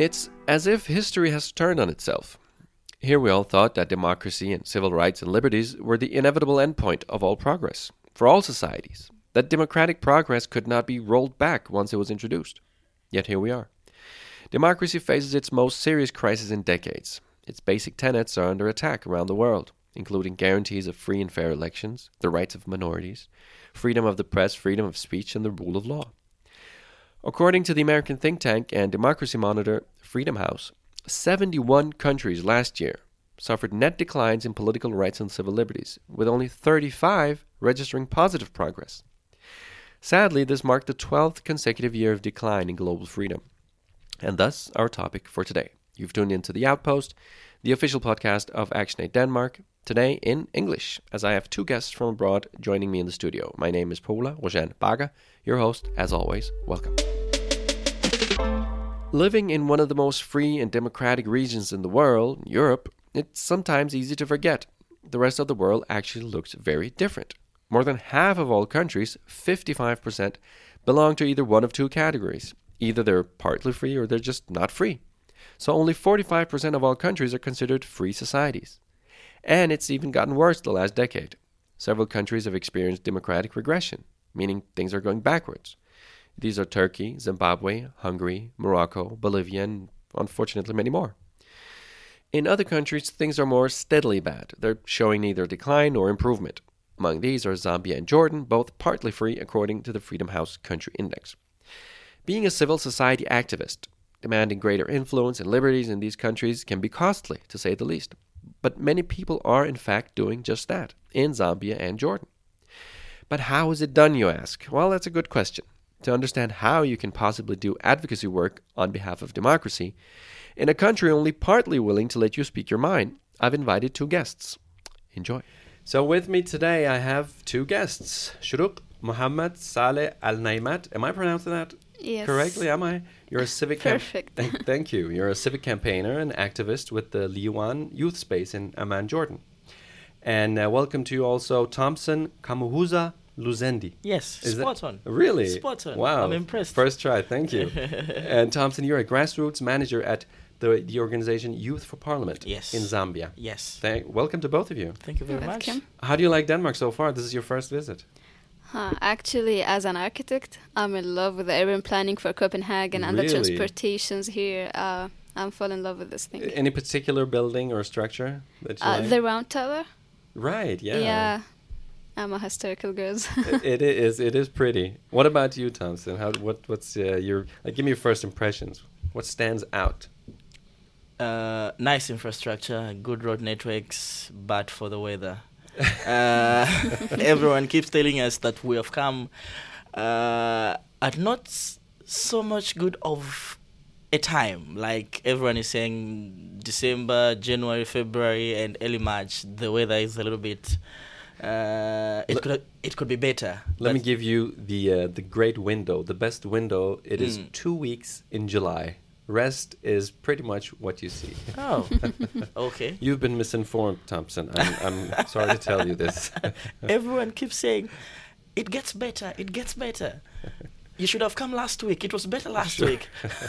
It's as if history has turned on itself. Here we all thought that democracy and civil rights and liberties were the inevitable endpoint of all progress, for all societies, that democratic progress could not be rolled back once it was introduced. Yet here we are. Democracy faces its most serious crisis in decades. Its basic tenets are under attack around the world, including guarantees of free and fair elections, the rights of minorities, freedom of the press, freedom of speech, and the rule of law. According to the American think tank and democracy monitor Freedom House, 71 countries last year suffered net declines in political rights and civil liberties, with only 35 registering positive progress. Sadly, this marked the 12th consecutive year of decline in global freedom. And thus, our topic for today. You've tuned into The Outpost, the official podcast of ActionAid Denmark, today in English, as I have two guests from abroad joining me in the studio. My name is Paula Rojan Baga, your host, as always. Welcome. Living in one of the most free and democratic regions in the world, Europe, it's sometimes easy to forget the rest of the world actually looks very different. More than half of all countries, 55%, belong to either one of two categories. Either they're partly free or they're just not free. So only 45% of all countries are considered free societies. And it's even gotten worse the last decade. Several countries have experienced democratic regression, meaning things are going backwards. These are Turkey, Zimbabwe, Hungary, Morocco, Bolivia, and unfortunately many more. In other countries, things are more steadily bad. They're showing neither decline nor improvement. Among these are Zambia and Jordan, both partly free according to the Freedom House Country Index. Being a civil society activist, demanding greater influence and liberties in these countries can be costly, to say the least. But many people are in fact doing just that, in Zambia and Jordan. But how is it done, you ask? Well, that's a good question. To understand how you can possibly do advocacy work on behalf of democracy in a country only partly willing to let you speak your mind, I've invited two guests. Enjoy. So with me today I have two guests. Shuruk Mohammed Saleh Al-Naimat. Am I pronouncing that correctly? Am I? You're a civic Perfect. Thank you. You're a civic campaigner and activist with the Liwan Youth Space in Amman, Jordan. And welcome to you also Thompson Kamuhuza Luzendi. Yes, spot on. Really? Spot on. Wow. I'm impressed. First try, thank you. And Thompson, you're a grassroots manager at the organization Youth for Parliament in Zambia. Yes. Welcome to both of you. Thank you very much. How do you like Denmark so far? This is your first visit. Actually, as an architect, I'm in love with the urban planning for Copenhagen and the transportations here. I'm fall in love with this thing. Any particular building or structure that you like? The Round Tower. Right, yeah. Yeah. I'm a historical girl. It is pretty. What about you, Thompson? What's your give me your first impressions. What stands out? Nice infrastructure, good road networks, bad for the weather. Everyone keeps telling us that we have come at not so much good of a time. Like everyone is saying, December, January, February, and early March, the weather is a little bit. It could be better. Let me give you the great window, the best window. It is 2 weeks in July. Rest is pretty much what you see. Oh, okay. You've been misinformed, Thompson. I'm sorry to tell you this. Everyone keeps saying, it gets better, it gets better. You should have come last week. It was better last week.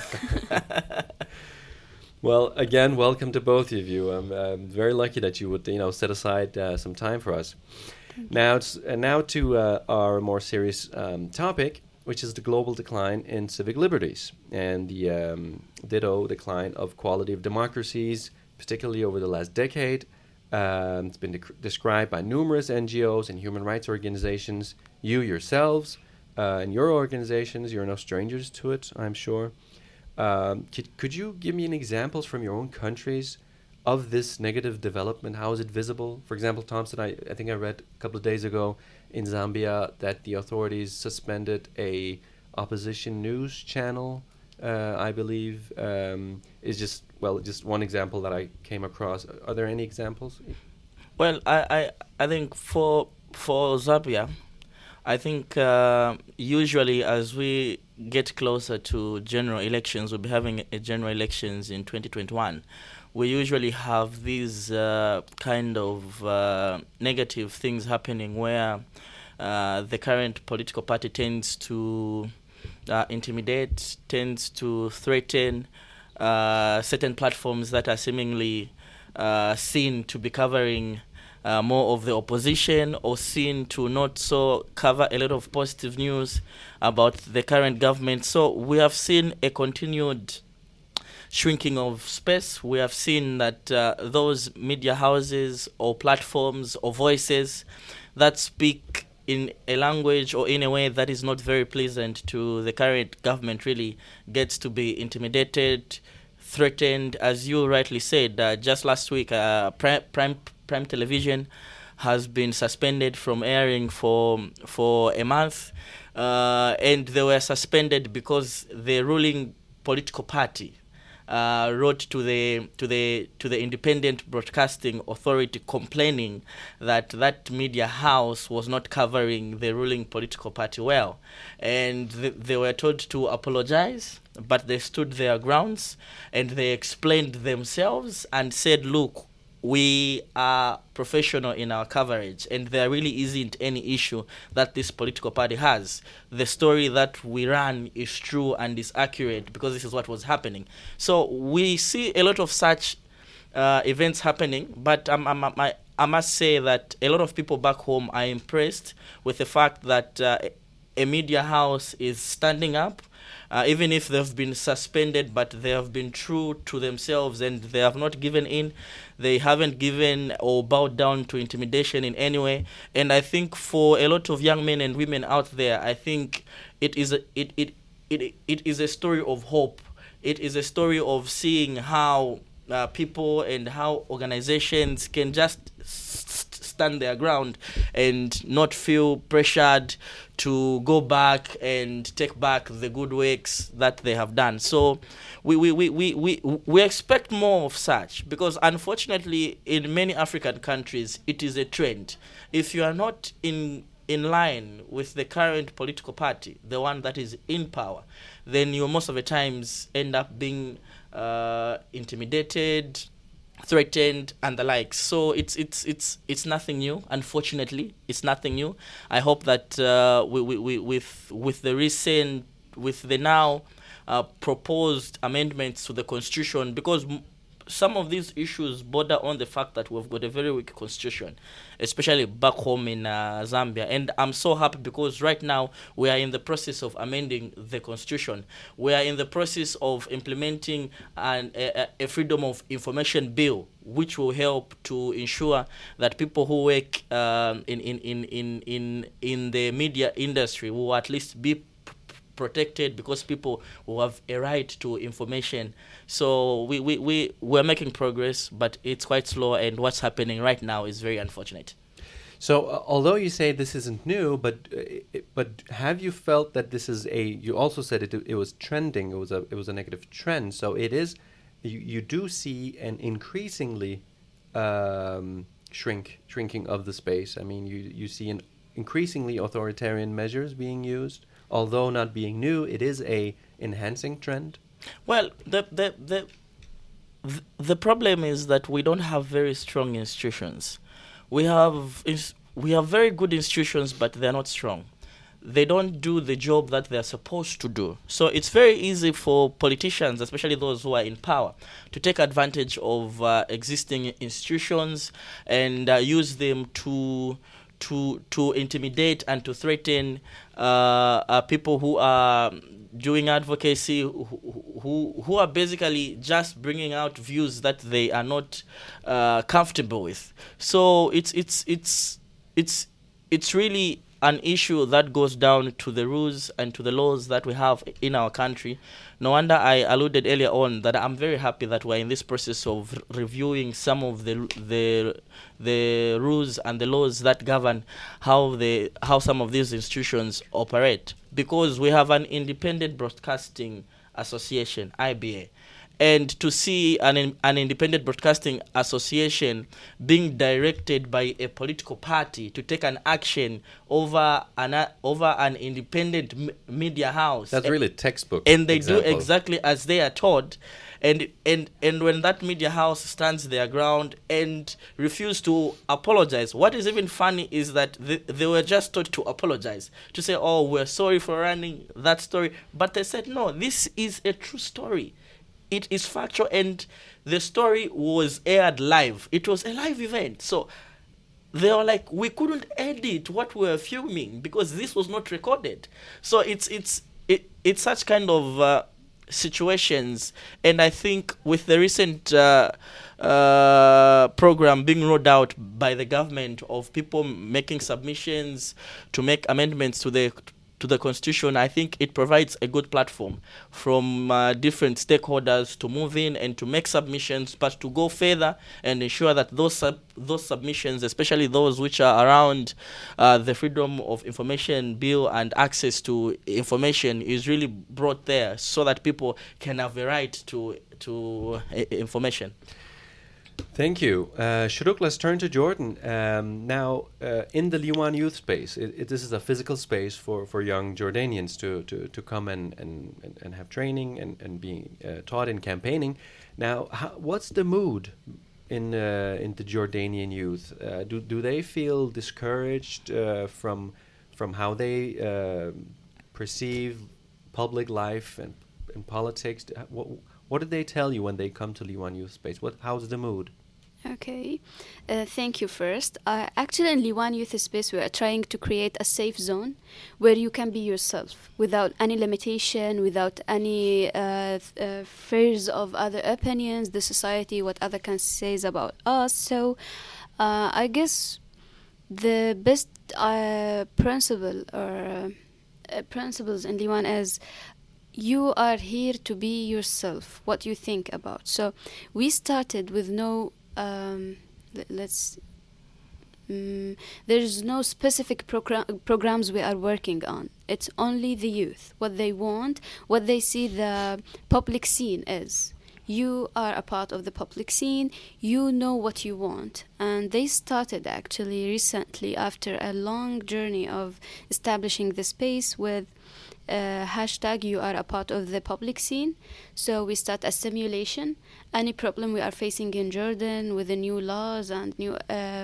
Well, again, welcome to both of you. I'm very lucky that you would, set aside some time for us. Now to our more serious topic, which is the global decline in civic liberties and the ditto decline of quality of democracies, particularly over the last decade. It's been described by numerous NGOs and human rights organizations. You yourselves and your organizations, you're no strangers to it, I'm sure. Could you give me an examples from your own countries of this negative development? How is it visible? For example, Thompson, I think I read a couple of days ago in Zambia that the authorities suspended a opposition news channel. I believe is just one example that I came across. Are there any examples? Well, I think for Zambia, I think usually as we get closer to general elections, we'll be having a general elections in 2021. We usually have these kind of negative things happening where the current political party tends to intimidate, tends to threaten certain platforms that are seemingly seen to be covering more of the opposition, or seen to not so cover a lot of positive news about the current government. So we have seen a continued shrinking of space. We have seen that those media houses or platforms or voices that speak in a language or in a way that is not very pleasant to the current government really gets to be intimidated, threatened. As you rightly said, just last week, Prime Television has been suspended from airing for a month, and they were suspended because the ruling political party wrote to the Independent Broadcasting Authority complaining that media house was not covering the ruling political party well, and they were told to apologize, but they stood their grounds and they explained themselves and said, look, we are professional in our coverage, and there really isn't any issue that this political party has. The story that we run is true and is accurate because this is what was happening. So we see a lot of such events happening, but I must say that a lot of people back home are impressed with the fact that a media house is standing up. Even if they've been suspended, but they have been true to themselves and they have not given in. They haven't given or bowed down to intimidation in any way. And I think for a lot of young men and women out there, I think it is a story of hope. It is a story of seeing how people and how organizations can just stand their ground and not feel pressured to go back and take back the good works that they have done. So we expect more of such, because unfortunately in many African countries it is a trend. If you are not in line with the current political party, the one that is in power, then you most of the times end up being intimidated, threatened, and the like. So it's nothing new. Unfortunately, it's nothing new. I hope that with the now proposed amendments to the constitution, because some of these issues border on the fact that we've got a very weak constitution, especially back home in Zambia. And I'm so happy because right now we are in the process of amending the constitution. We are in the process of implementing a freedom of information bill, which will help to ensure that people who work in the media industry will at least be protected, because people will have a right to information. So we're making progress, but it's quite slow, and what's happening right now is very unfortunate. So although you say this isn't new, but have you felt that this is you also said it was trending, it was a negative trend, so it is, you do see an increasingly shrinking of the space. I mean, you see an increasingly authoritarian measures being used. Although not being new, it is a enhancing trend. Well, the problem is that we don't have very strong institutions. We have very good institutions, but they're not strong. They don't do the job that they're supposed to do. So it's very easy for politicians, especially those who are in power, to take advantage of existing institutions and use them to intimidate and to threaten people who are doing advocacy, who are basically just bringing out views that they are not comfortable with. So it's really an issue that goes down to the rules and to the laws that we have in our country. No wonder I alluded earlier on that I'm very happy that we're in this process of reviewing some of the rules and the laws that govern how some of these institutions operate, because we have an Independent Broadcasting Association, IBA. And to see an independent broadcasting association being directed by a political party to take an action over an independent media house, that's really textbook. And they do exactly as they are told. And when that media house stands their ground and refuse to apologize, what is even funny is that they were just told to apologize, to say, oh, we're sorry for running that story. But they said, no, this is a true story. it is factual, and the story was aired live. It was a live event. So they were like, we couldn't edit what we were filming because this was not recorded. So it's such kind of situations. And I think with the recent program being rolled out by the government of people making submissions to make amendments to the Constitution, I think it provides a good platform from different stakeholders to move in and to make submissions, but to go further and ensure that those submissions, especially those which are around the Freedom of Information Bill and access to information, is really brought there so that people can have a right to information. Thank you. Shourouk, let's turn to Jordan. Now, in the Liwan Youth Space, this is a physical space for young Jordanians to come and have training and being taught in campaigning. Now, what's the mood in the Jordanian youth? Do they feel discouraged from how they perceive public life and politics? What did they tell you when they come to Liwan Youth Space? How's the mood? Okay, thank you first. Actually, in Liwan Youth Space, we are trying to create a safe zone where you can be yourself without any limitation, without any fears of other opinions, the society, what other can say about us. So I guess the best principles in Liwan is you are here to be yourself, what you think about. So we started with no, there's no specific programs we are working on. It's only the youth, what they want, what they see the public scene is. You are a part of the public scene, you know what you want. And they started actually recently after a long journey of establishing the space with hashtag you are a part of the public scene. So we start a simulation. Any problem we are facing in Jordan with the new laws and new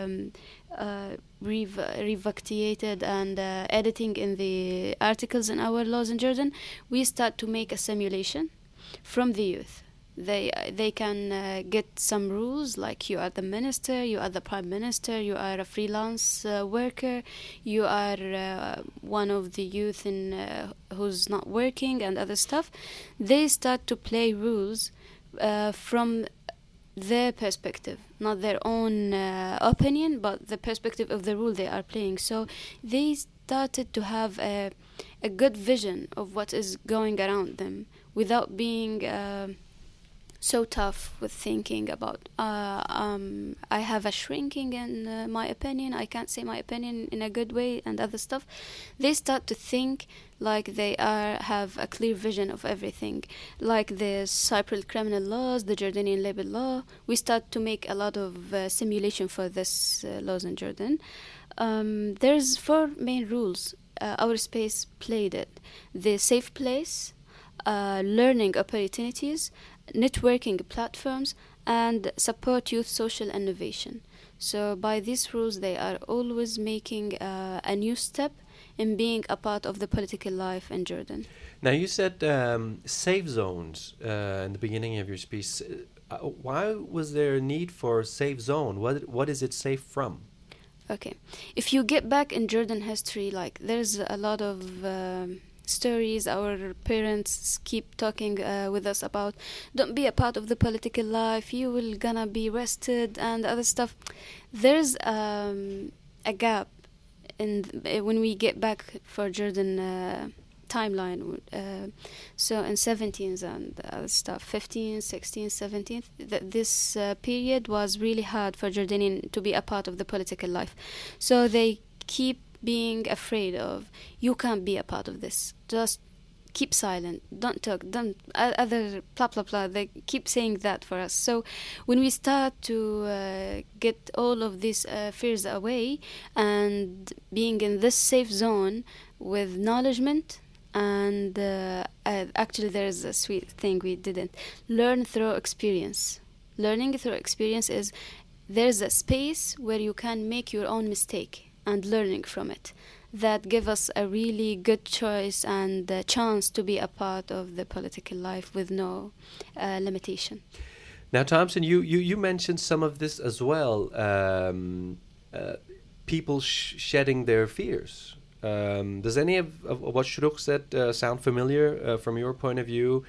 revictiated and editing in the articles in our laws in Jordan, we start to make a simulation from the youth. They can get some rules like you are the minister, you are the prime minister, you are a freelance worker, you are one of the youth who's not working and other stuff. They start to play rules from their perspective, not their own opinion, but the perspective of the rule they are playing. So they started to have a good vision of what is going around them without being so tough with thinking about I have a shrinking in my opinion, I can't say my opinion in a good way and other stuff. They start to think like they have a clear vision of everything, like the Cypriot criminal laws, the Jordanian labor law. We start to make a lot of simulation for this laws in Jordan. There's 4 main rules. Our space played it: the safe place, learning opportunities, networking platforms, and support youth social innovation. So by these rules, they are always making a new step in being a part of the political life in Jordan. Now, you said safe zones in the beginning of your speech. Why was there a need for a safe zone? What is it safe from? Okay. If you get back in Jordan history, like there's a lot of stories our parents keep talking with us about. Don't be a part of the political life, you will gonna be arrested and other stuff. There's a gap in when we get back for Jordan timeline. So in 17th and other stuff, 15th, 16th, 17th, this period was really hard for Jordanian to be a part of the political life. So they keep being afraid of, you can't be a part of this, just keep silent, don't talk, don't other blah blah blah. They keep saying that for us. So when we start to get all of these fears away and being in this safe zone with acknowledgement, and actually there's a sweet thing we didn't learn through experience. Learning through experience is there's a space where you can make your own mistake and learning from it. that give us a really good choice and the chance to be a part of the political life with no limitation. Now, Thompson, you mentioned some of this as well. People shedding their fears. Does any of what Shourouk said sound familiar from your point of view?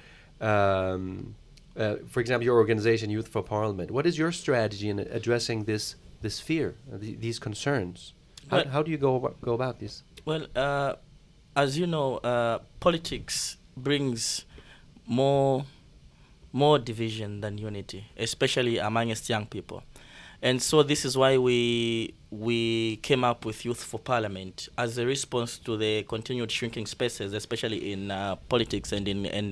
For example, your organization, Youth for Parliament. What is your strategy in addressing this fear, these concerns? How do you go about this? Well, as you know, politics brings more division than unity, especially amongst young people. And so this is why we came up with Youth for Parliament as a response to the continued shrinking spaces, especially in politics and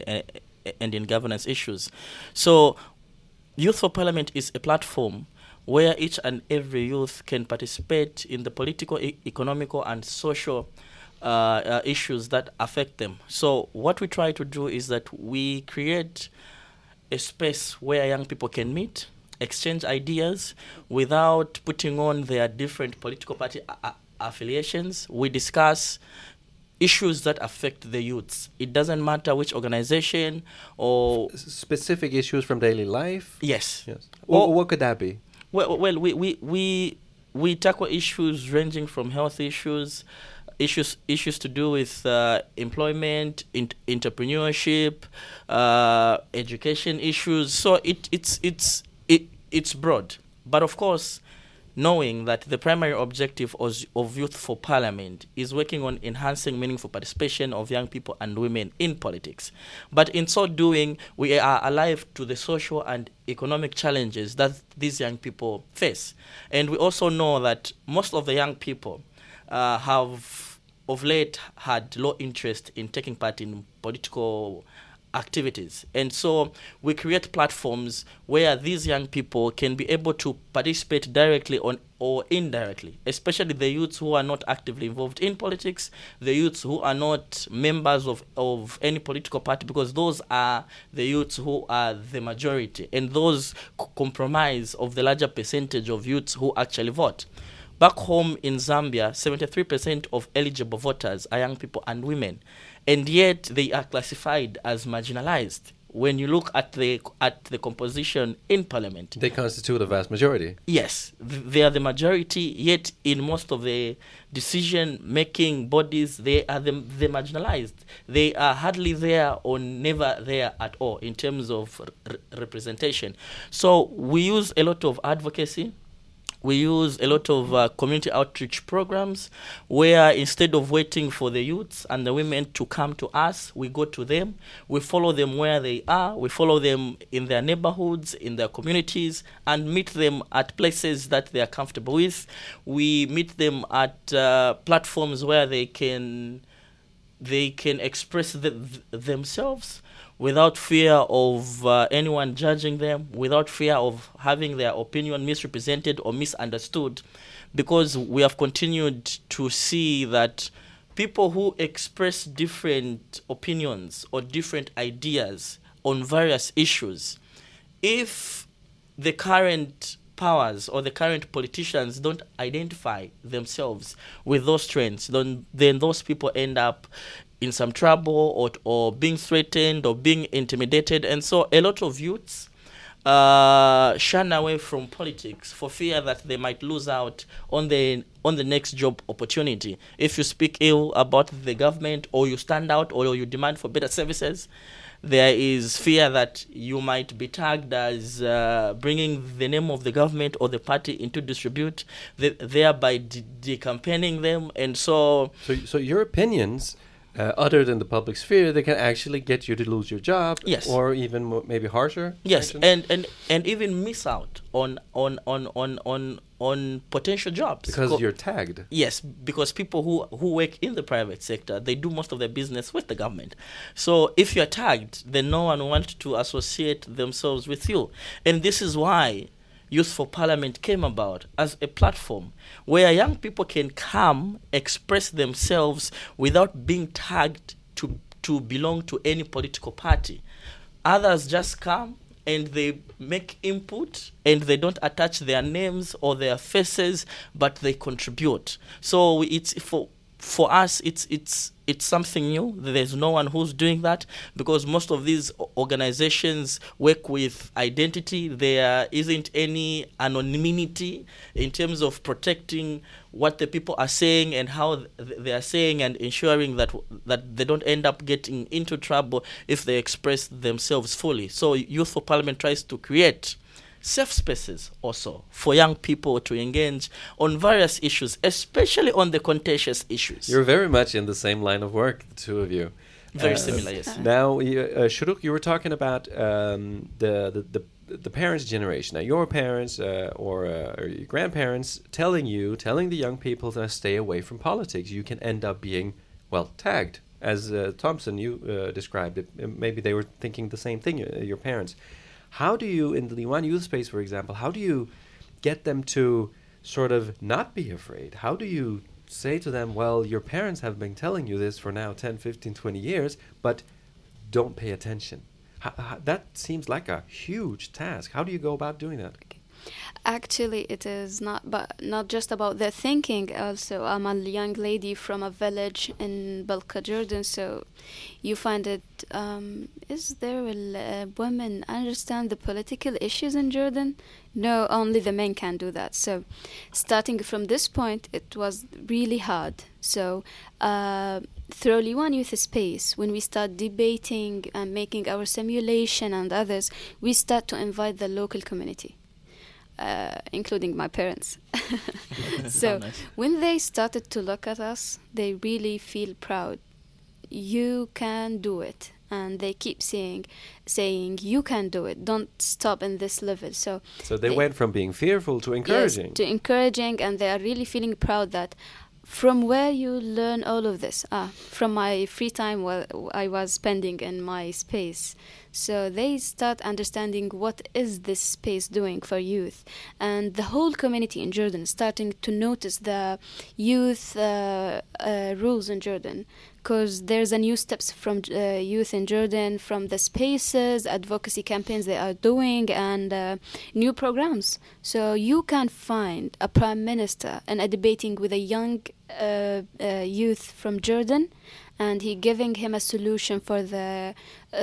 in governance issues. So Youth for Parliament is a platform where each and every youth can participate in the political, economical, and social issues that affect them. So what we try to do is that we create a space where young people can meet, exchange ideas without putting on their different political party affiliations. We discuss issues that affect the youths. It doesn't matter which organization or specific issues from daily life. Yes. What could that be? Well, we tackle issues ranging from health issues to do with employment, entrepreneurship, education issues. So it's broad, but of course, knowing that the primary objective of Youth for Parliament is working on enhancing meaningful participation of young people and women in politics. But in so doing, we are alive to the social and economic challenges that these young people face. And we also know that most of the young people have of late had low interest in taking part in political activities. And so we create platforms where these young people can be able to participate directly or indirectly, especially the youths who are not actively involved in politics, the youths who are not members of any political party, because those are the youths who are the majority, and those comprise of the larger percentage of youths who actually vote. Back home in Zambia, 73% of eligible voters are young people and women, and yet they are classified as marginalized. When you look at the composition in parliament, they constitute a vast majority. Yes, they are the majority, yet in most of the decision-making bodies, they are the marginalized. They are hardly there or never there at all in terms of representation. So we use a lot of advocacy. We use a lot of community outreach programs where instead of waiting for the youths and the women to come to us, we go to them. We follow them where they are. We follow them in their neighborhoods, in their communities, and meet them at places that they are comfortable with. We meet them at platforms where they can express themselves without fear of anyone judging them, without fear of having their opinion misrepresented or misunderstood, because we have continued to see that people who express different opinions or different ideas on various issues, if the current powers or the current politicians don't identify themselves with those trends, then those people end up in some trouble or being threatened or being intimidated. And so a lot of youths shun away from politics for fear that they might lose out on the next job opportunity. If you speak ill about the government, or you stand out, or you demand for better services, there is fear that you might be tagged as bringing the name of the government or the party into disrepute, thereby decampaigning them. And so your opinions, other than the public sphere, they can actually get you to lose your job. Yes. Or even maybe harsher. Yes, and even miss out on potential jobs because you're tagged. Yes, because people who work in the private sector, they do most of their business with the government. So if you're tagged, then no one wants to associate themselves with you. And this is why Youth for Parliament came about as a platform where young people can come, express themselves without being tagged to belong to any political party. Others just come and they make input and they don't attach their names or their faces, but they contribute. So it's for us, it's something new. There's no one who's doing that, because most of these organizations work with identity. There isn't any anonymity in terms of protecting what the people are saying and how they are saying, and ensuring that they don't end up getting into trouble if they express themselves fully. So Youth for Parliament tries to create safe spaces also for young people to engage on various issues, especially on the contentious issues. You're very much in the same line of work, the two of you. Very similar, yes. Now, Shuruk, you were talking about the parents' generation. Now, your parents or your grandparents telling the young people to stay away from politics. You can end up being, well, tagged. As Thompson, you described it. Maybe they were thinking the same thing, your parents. How do you, in the Liwan Youth Space, for example, how do you get them to sort of not be afraid? How do you say to them, well, your parents have been telling you this for now 10, 15, 20 years, but don't pay attention? That seems like a huge task. How do you go about doing that? Actually, it is not just about their thinking. Also, I'm a young lady from a village in Balqa, Jordan, so you find it, is there women understand the political issues in Jordan? No, only the men can do that. So starting from this point, it was really hard. So through Liwan Youth Space, when we start debating and making our simulation and others, we start to invite the local community. Including my parents. So nice. When they started to look at us, they really feel proud. You can do it. And they keep saying, you can do it. Don't stop in this level. So they went from being fearful to encouraging. Yes, to encouraging, and they are really feeling proud that from where you learn all of this? From my free time I was spending in my space. So they start understanding what is this space doing for youth. And the whole community in Jordan starting to notice the youth rules in Jordan. Because there's a new steps from youth in Jordan, from the spaces, advocacy campaigns they are doing, and new programs. So you can find a prime minister and a debating with a young youth from Jordan, and he giving him a solution for the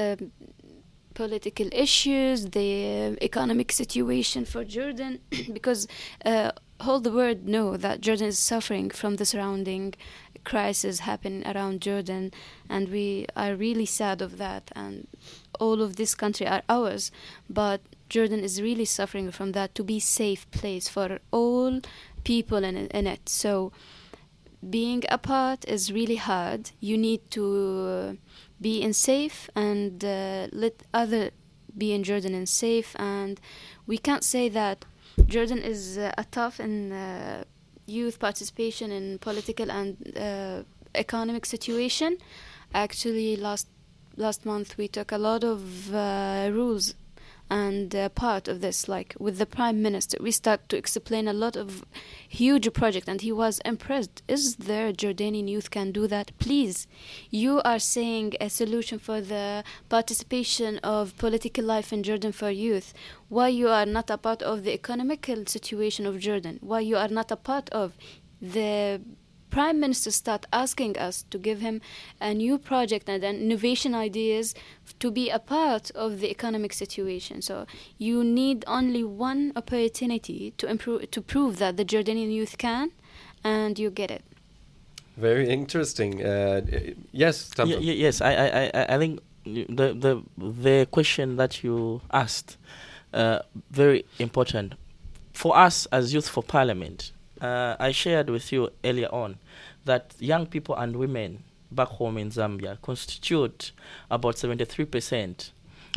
political issues, the economic situation for Jordan, because all the world know that Jordan is suffering from the surrounding crisis happening around Jordan, and we are really sad of that, and all of this country are ours, but Jordan is really suffering from that, to be safe place for all people in it. So being apart is really hard. You need to be in safe and let other be in Jordan and safe, and we can't say that Jordan is tough in youth participation in political and economic situation. Actually, last month we took a lot of rules, and part of this, like with the Prime Minister, we start to explain a lot of huge project, and he was impressed. Is there Jordanian youth can do that? Please, you are saying a solution for the participation of political life in Jordan for youth. Why you are not a part of the economical situation of Jordan? Why you are not a part of the Prime Minister start asking us to give him a new project and innovation ideas to be a part of the economic situation. So you need only one opportunity to prove that the Jordanian youth can, and you get it. Very interesting. Yes, Thompson. Yes. I think the question that you asked, very important for us as Youth for Parliament. I shared with you earlier on that young people and women back home in Zambia constitute about 73%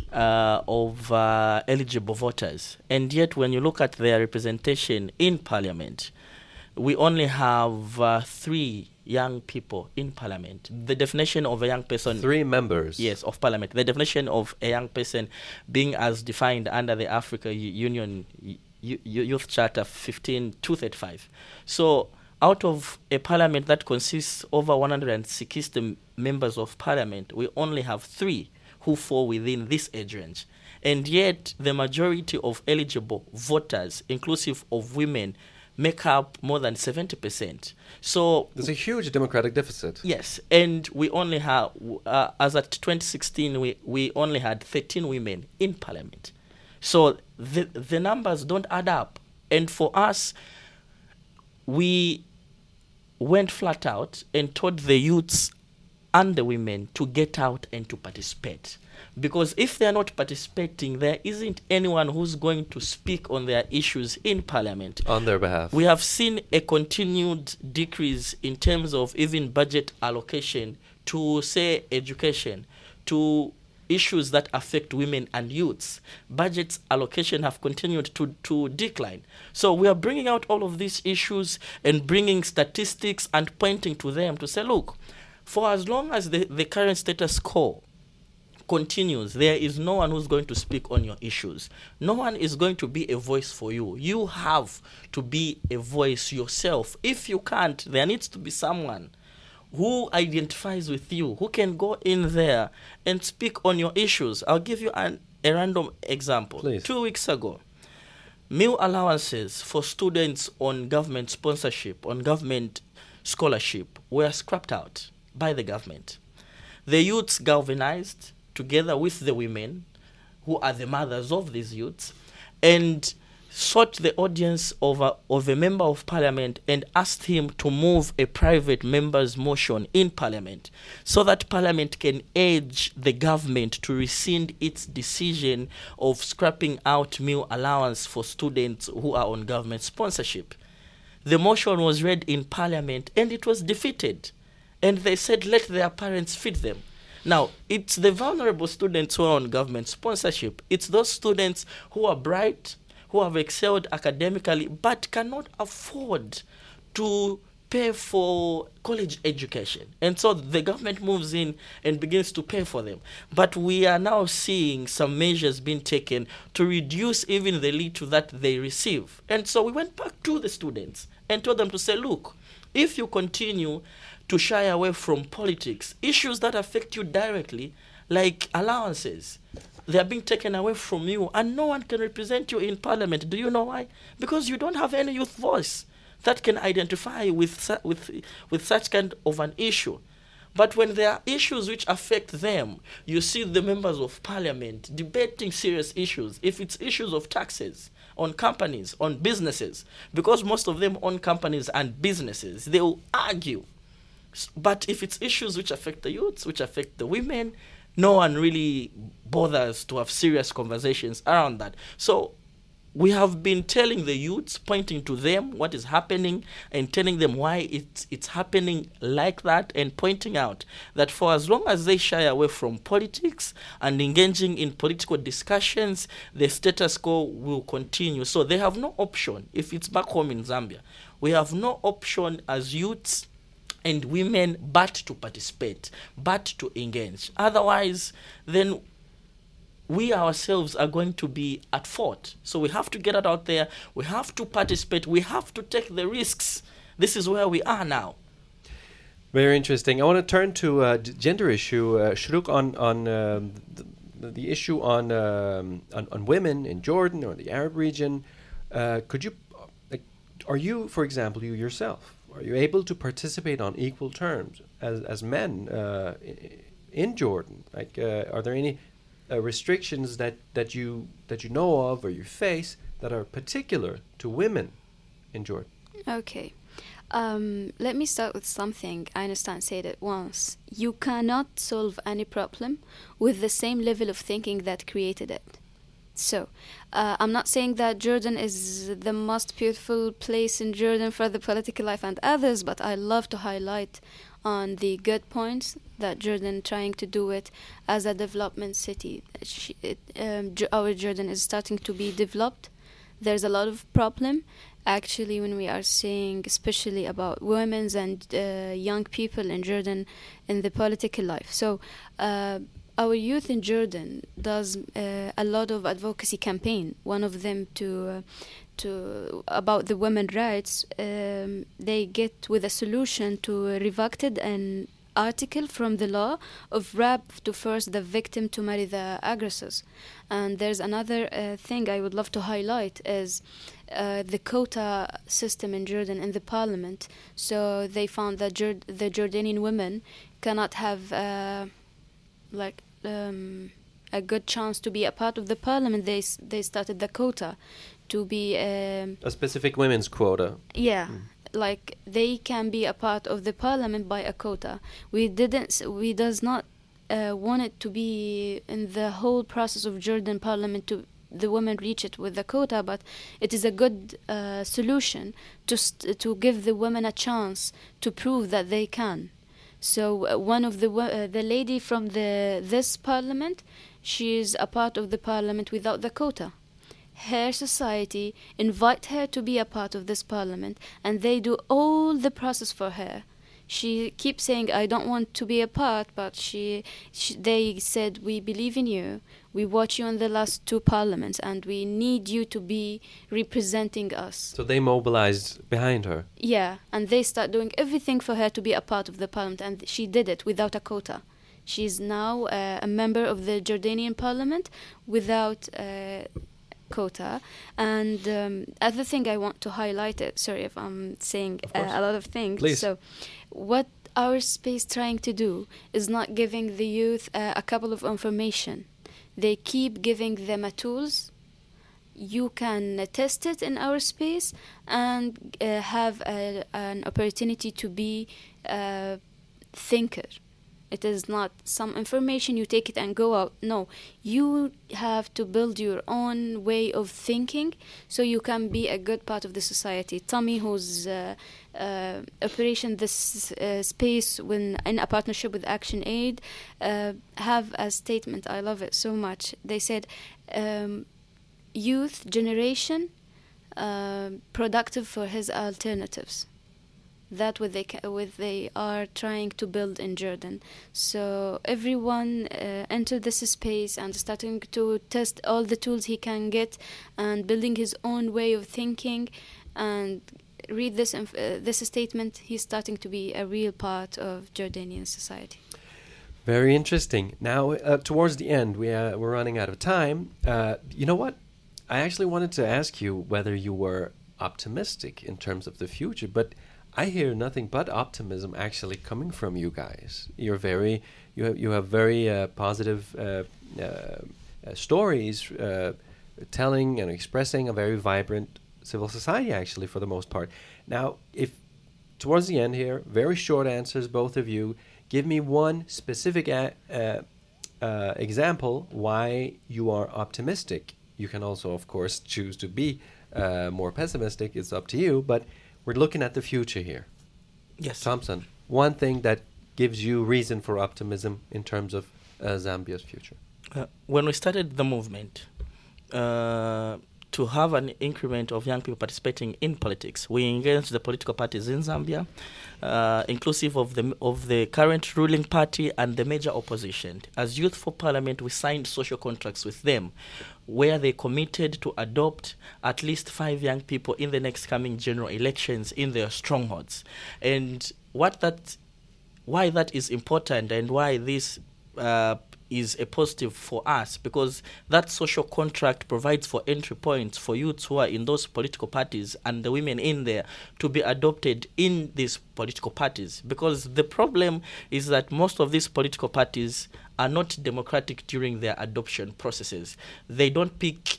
of eligible voters. And yet when you look at their representation in Parliament, we only have 3 young people in Parliament. The definition of a young person... 3 members. Yes, of Parliament. The definition of a young person being as defined under the Africa Union Youth Charter 15235. So out of a parliament that consists over 160 members of parliament, we only have 3 who fall within this age range. And yet the majority of eligible voters, inclusive of women, make up more than 70%. So there's a huge democratic deficit. Yes, and we only have, as at 2016, we only had 13 women in parliament. So the numbers don't add up. And for us, we went flat out and told the youths and the women to get out and to participate. Because if they are not participating, there isn't anyone who's going to speak on their issues in parliament. On their behalf. We have seen a continued decrease in terms of even budget allocation to, say, education, to issues that affect women and youths. Budget allocation have continued to decline. So we are bringing out all of these issues and bringing statistics and pointing to them to say, look, for as long as the current status quo continues, there is no one who's going to speak on your issues. No one is going to be a voice for you. You have to be a voice yourself. If you can't, there needs to be someone who identifies with you, who can go in there and speak on your issues. I'll give you a random example. Please. 2 weeks ago, meal allowances for students on government sponsorship, on government scholarship, were scrapped out by the government. The youths galvanized together with the women, who are the mothers of these youths, and sought the audience of a member of parliament and asked him to move a private member's motion in parliament so that parliament can urge the government to rescind its decision of scrapping out meal allowance for students who are on government sponsorship. The motion was read in parliament and it was defeated. And they said, let their parents feed them. Now, it's the vulnerable students who are on government sponsorship. It's those students who are bright, who have excelled academically, but cannot afford to pay for college education. And so the government moves in and begins to pay for them. But we are now seeing some measures being taken to reduce even the little that they receive. And so we went back to the students and told them to say, look, if you continue to shy away from politics, issues that affect you directly, like allowances, they are being taken away from you, and no one can represent you in parliament. Do you know why? Because you don't have any youth voice that can identify with such kind of an issue. But when there are issues which affect them, you see the members of parliament debating serious issues. If it's issues of taxes on companies, on businesses, because most of them own companies and businesses, they will argue. But if it's issues which affect the youths, which affect the women, no one really bothers to have serious conversations around that. So we have been telling the youths, pointing to them what is happening and telling them why it's happening like that, and pointing out that for as long as they shy away from politics and engaging in political discussions, the status quo will continue. So they have no option. If it's back home in Zambia, we have no option as youths and women but to participate, but to engage. Otherwise, then we ourselves are going to be at fault. So we have to get it out there. We have to participate. We have to take the risks. This is where we are now. Very interesting. I want to turn to gender issue, Shrouk, on the issue on women in Jordan or the Arab region. Could you, are you, for example, you yourself, are you able to participate on equal terms as men in Jordan? Like, are there any restrictions that you know of or you face that are particular to women in Jordan? Okay. Let me start with something Einstein said it once. You cannot solve any problem with the same level of thinking that created it. So, I'm not saying that Jordan is the most beautiful place in Jordan for the political life and others, but I love to highlight on the good points that Jordan trying to do it as a development city. Our Jordan is starting to be developed. There's a lot of problem actually when we are saying especially about women and young people in Jordan in the political life. So our youth in Jordan does a lot of advocacy campaign. One of them to about the women rights. They get with a solution to revoke it and article from the law of rape to force the victim to marry the aggressors. And there's another thing I would love to highlight is the quota system in Jordan in the parliament. So they found that the Jordanian women cannot have a good chance to be a part of the parliament. They started the quota to be a specific women's quota. Yeah. Like they can be a part of the parliament by a quota. We does not want it to be in the whole process of Jordan parliament to the women reach it with the quota, but it is a good solution to give the women a chance to prove that they can. So one of the lady from this parliament, she is a part of the parliament without the quota. Her society invite her to be a part of this parliament, and they do all the process for her. She keeps saying, I don't want to be a part, but they said, we believe in you. We watch you in the last 2 parliaments, and we need you to be representing us. So they mobilized behind her. Yeah, and they start doing everything for her to be a part of the parliament, and she did it without a quota. She's now a member of the Jordanian parliament without quota. And other thing I want to highlight it, sorry if I'm saying a lot of things. Please. So what our space trying to do is not giving the youth a couple of information. They keep giving them a tools. You can test it in our space and have an opportunity to be a thinker. It is not some information, you take it and go out. No, you have to build your own way of thinking so you can be a good part of the society. Tommy, who's operation this space in a partnership with Action Aid, have a statement. I love it so much. They said, youth generation productive for his alternatives. That what they are trying to build in Jordan. So everyone entered this space and starting to test all the tools he can get and building his own way of thinking. And read this statement. He's starting to be a real part of Jordanian society. Very interesting. Now, towards the end, we're running out of time. You know what? I actually wanted to ask you whether you were optimistic in terms of the future, but I hear nothing but optimism actually coming from you guys. You have very positive stories, telling and expressing a very vibrant civil society actually for the most part. Now, if towards the end here, very short answers, both of you, give me one specific example why you are optimistic. You can also, of course, choose to be more pessimistic. It's up to you, but we're looking at the future here. Yes. Thompson, one thing that gives you reason for optimism in terms of Zambia's future. When we started the movement, to have an increment of young people participating in politics, we engaged the political parties in Zambia, inclusive of the current ruling party and the major opposition. As Youth for Parliament, we signed social contracts with them, where they committed to adopt at least 5 young people in the next coming general elections in their strongholds. And why that is important and why this is a positive for us, because that social contract provides for entry points for youths who are in those political parties and the women in there to be adopted in these political parties. Because the problem is that most of these political parties are not democratic during their adoption processes. They don't pick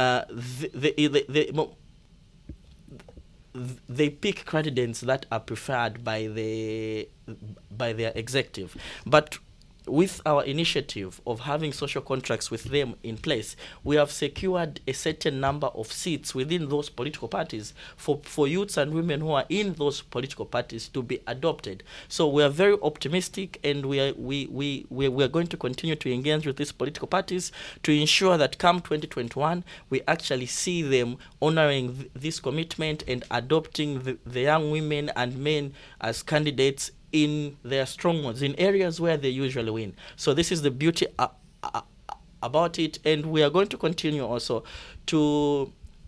they pick candidates that are preferred by their executive. But with our initiative of having social contracts with them in place, we have secured a certain number of seats within those political parties for youths and women who are in those political parties to be adopted. So we are very optimistic, and we are going to continue to engage with these political parties to ensure that come 2021, we actually see them honoring this commitment and adopting the young women and men as candidates in their strongholds, in areas where they usually win. So this is the beauty about it, and we are going to continue also to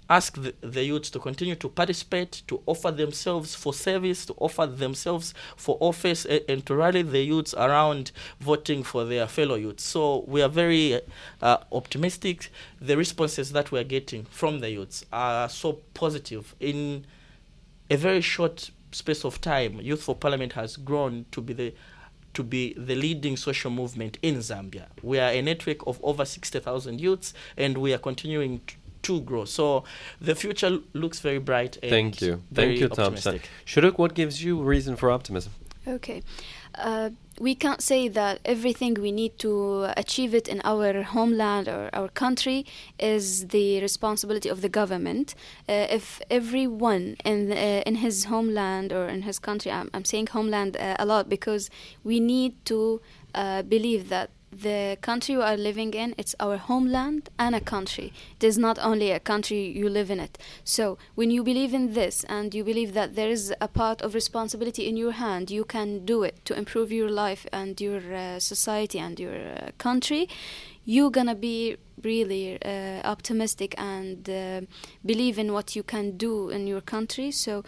ask the youths to continue to participate, to offer themselves for service, to offer themselves for office, and to rally the youths around voting for their fellow youths. So we are very optimistic. The responses that we are getting from the youths are so positive. In a very short space of time, Youth for Parliament has grown to be the leading social movement in Zambia. We are a network of over 60,000 youths, and we are continuing to grow. So the future looks very bright. And Thank you, Thompson. Shuruk, what gives you reason for optimism? Okay. We can't say that everything we need to achieve it in our homeland or our country is the responsibility of the government. If everyone in his homeland or in his country, I'm saying homeland a lot because we need to believe that the country we are living in, it's our homeland and a country. It is not only a country you live in it. So when you believe in this and you believe that there is a part of responsibility in your hand, you can do it to improve your life and your society and your country, you're gonna be really optimistic and believe in what you can do in your country. So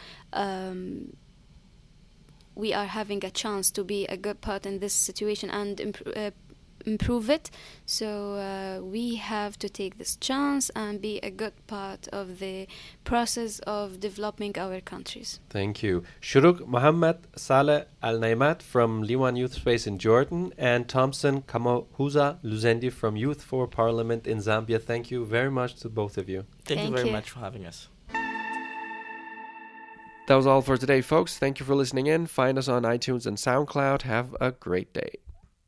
we are having a chance to be a good part in this situation and improve it. So we have to take this chance and be a good part of the process of developing our countries. Thank you. Shuruk Mohammed Saleh Al-Naimat from Liwan Youth Space in Jordan and Thompson Kamahuza Luzendi from Youth for Parliament in Zambia. Thank you very much to both of you. Thank you very much for having us. That was all for today, folks. Thank you for listening in. Find us on iTunes and SoundCloud. Have a great day.